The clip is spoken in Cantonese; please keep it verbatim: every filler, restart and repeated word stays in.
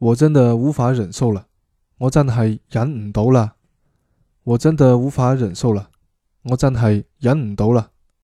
我真的无法忍受了，我真係忍唔到啦！我真的無法忍受了，我真係忍唔到啦。